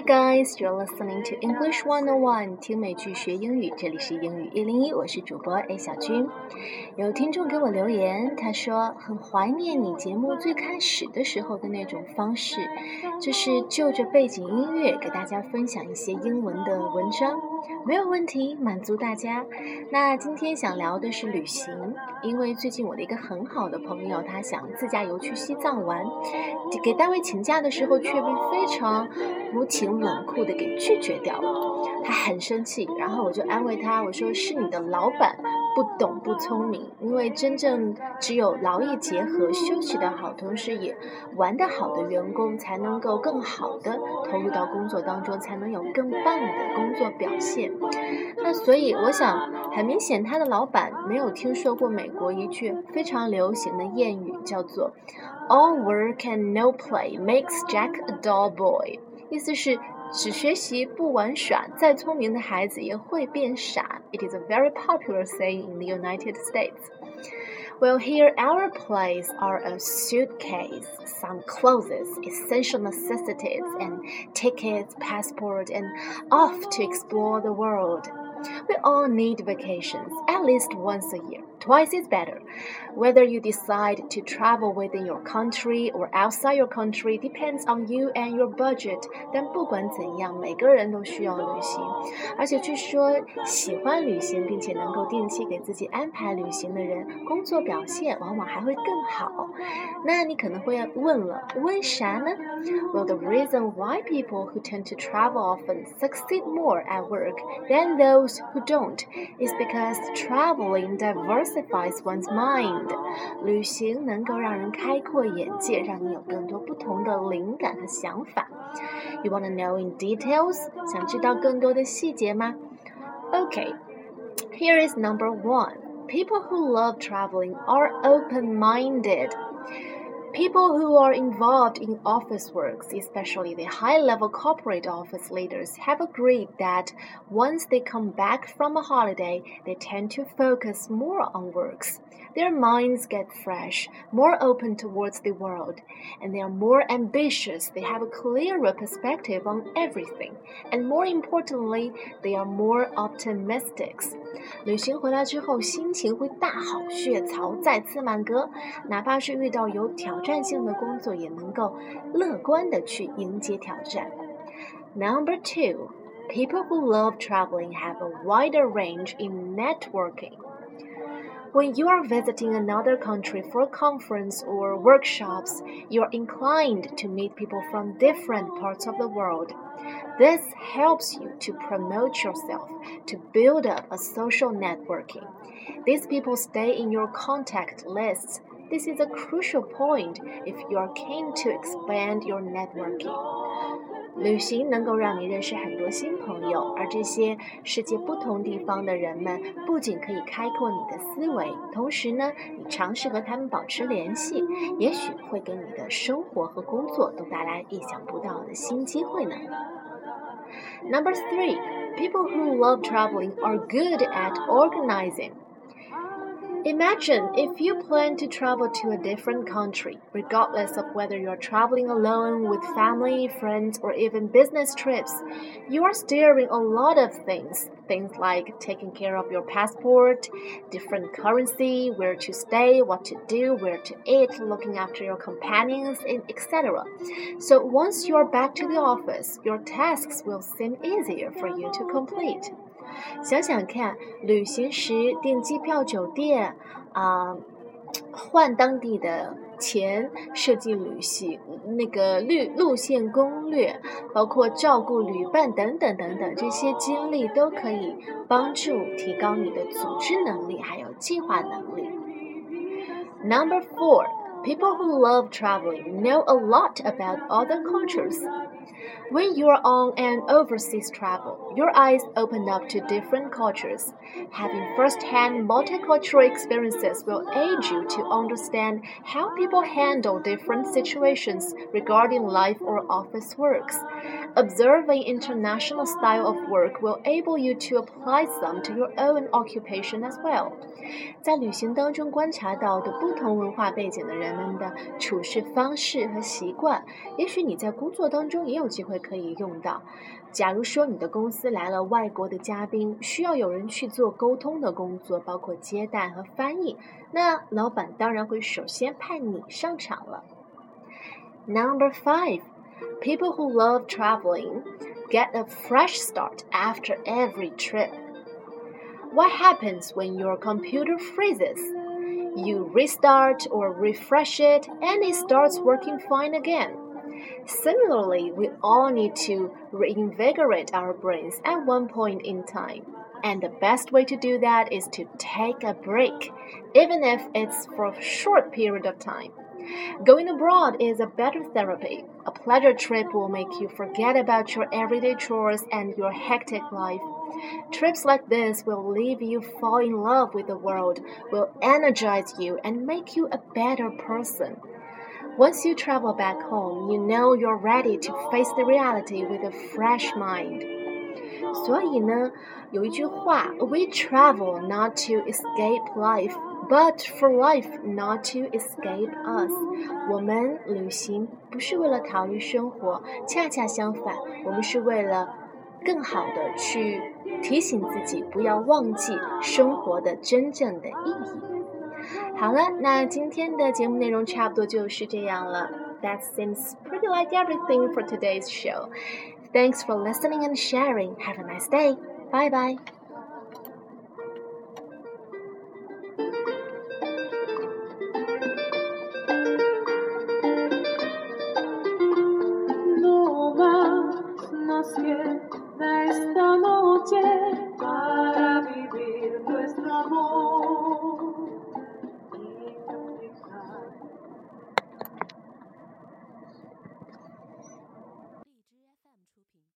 guys, you're listening to English 101，听美剧学英语，这里是英语101，我是主播 A 小军。有听众给我留言，他说很怀念你节目最开始的时候的那种方式，就是就着背景音乐给大家分享一些英文的文章。没有问题，满足大家。那今天想聊的是旅行，因为最近我的一个很好的朋友，他想自驾游去西藏玩，给单位请假的时候却被非常无情冷酷的给拒绝掉了，他很生气，然后我就安慰他，我说是你的老板不懂不聪明，因为真正只有劳逸结合，休息得好，同时也玩得好的员工才能够更好的投入到工作当中，才能有更棒的工作表现。那所以我想很明显他的老板没有听说过美国一句非常流行的谚语，叫做 All work and no play makes Jack a dull boy， 意思是只学习不玩耍，再聪明的孩子也会变傻。 It is a very popular saying in the United States. Well, here our plays are a suitcase, some clothes, essential necessities, and tickets, passport, and off to explore the world. We all need vacations, at least once a year. Twice is better. Whether you decide to travel within your country or outside your country depends on you and your budget. 但不管怎样，每个人都需要旅行。而且据说喜欢旅行并且能够定期给自己安排旅行的人，工作表现往往还会更好。那你可能会问了，为啥呢？ Well, the reason why people who tend to travel often succeed more at work than those who don't is because traveling diversifies one's mind. 旅行能够让人开阔眼界，让你有更多不同的灵感和想法。You want to know in details? 想知道更多的细节吗？ Okay, here is number 1. People who love traveling are open-minded.People who are involved in office works, especially the high-level corporate office leaders, have agreed that once they come back from a holiday, they tend to focus more on works. Their minds get fresh, more open towards the world, and they are more ambitious. They have a clearer perspective on everything, and more importantly, they are more optimistic. 旅行回来之后，心情会大好，血槽再次满格，哪怕是遇到有挑战性的工作，也能够乐观地去迎接挑战。Number 2, people who love traveling have a wider range in networking.When you are visiting another country for a conference or workshops, you are inclined to meet people from different parts of the world. This helps you to promote yourself, to build up a social networking. These people stay in your contact lists. This is a crucial point if you are keen to expand your networking.旅行能够让你认识很多新朋友，而这些世界不同地方的人们不仅可以开阔你的思维，同时呢，你尝试和他们保持联系，也许会给你的生活和工作都带来意想不到的新机会呢。Number 3, people who love traveling are good at organizing.Imagine if you plan to travel to a different country, regardless of whether you're traveling alone, with family, friends, or even business trips. You are steering a lot of things like taking care of your passport, different currency, where to stay, what to do, where to eat, looking after your companions, etc. So once you are back to the office, your tasks will seem easier for you to complete.想想看，旅行时订机票、酒店换当地的钱，设计旅行那个路线攻略，包括照顾旅伴等等等等，这些经历都可以帮助提高你的组织能力，还有计划能力。Number 4, people who love traveling know a lot about other cultures.When you are on an overseas travel, your eyes open up to different cultures. Having first-hand multicultural experiences will aid you to understand how people handle different situations regarding life or office works. Observing international style of work will enable you to apply some to your own occupation as well. 在旅行当中观察到的不同文化背景的人们的处事方式和习惯，也许你在工作当中也有机会可以用到。假如说你的公司来了外国的嘉宾，需要有人去做沟通的工作，包括接待和翻译，那老板当然会首先派你上场了。Number 5. People who love traveling get a fresh start after every trip. What happens when your computer freezes? You restart or refresh it and it starts working fine again. Similarly, we all need to reinvigorate our brains at one point in time. And the best way to do that is to take a break, even if it's for a short period of time. Going abroad is a better therapy. A pleasure trip will make you forget about your everyday chores and your hectic life. Trips like this will leave you fall in love with the world, will energize you and make you a better person. Once you travel back home, you know you're ready to face the reality with a fresh mind. 所以呢，有一句话 We travel not to escape life, but for life not to escape us. 我们旅行不是为了逃离生活，恰恰相反，我们是为了更好的去提醒自己不要忘记生活的真正的意义。好了，那今天的节目内容差不多就是这样了。That seems pretty like everything for today's show. Thanks for listening and sharing. Have a nice day. Bye bye. No más nos queda esta noche para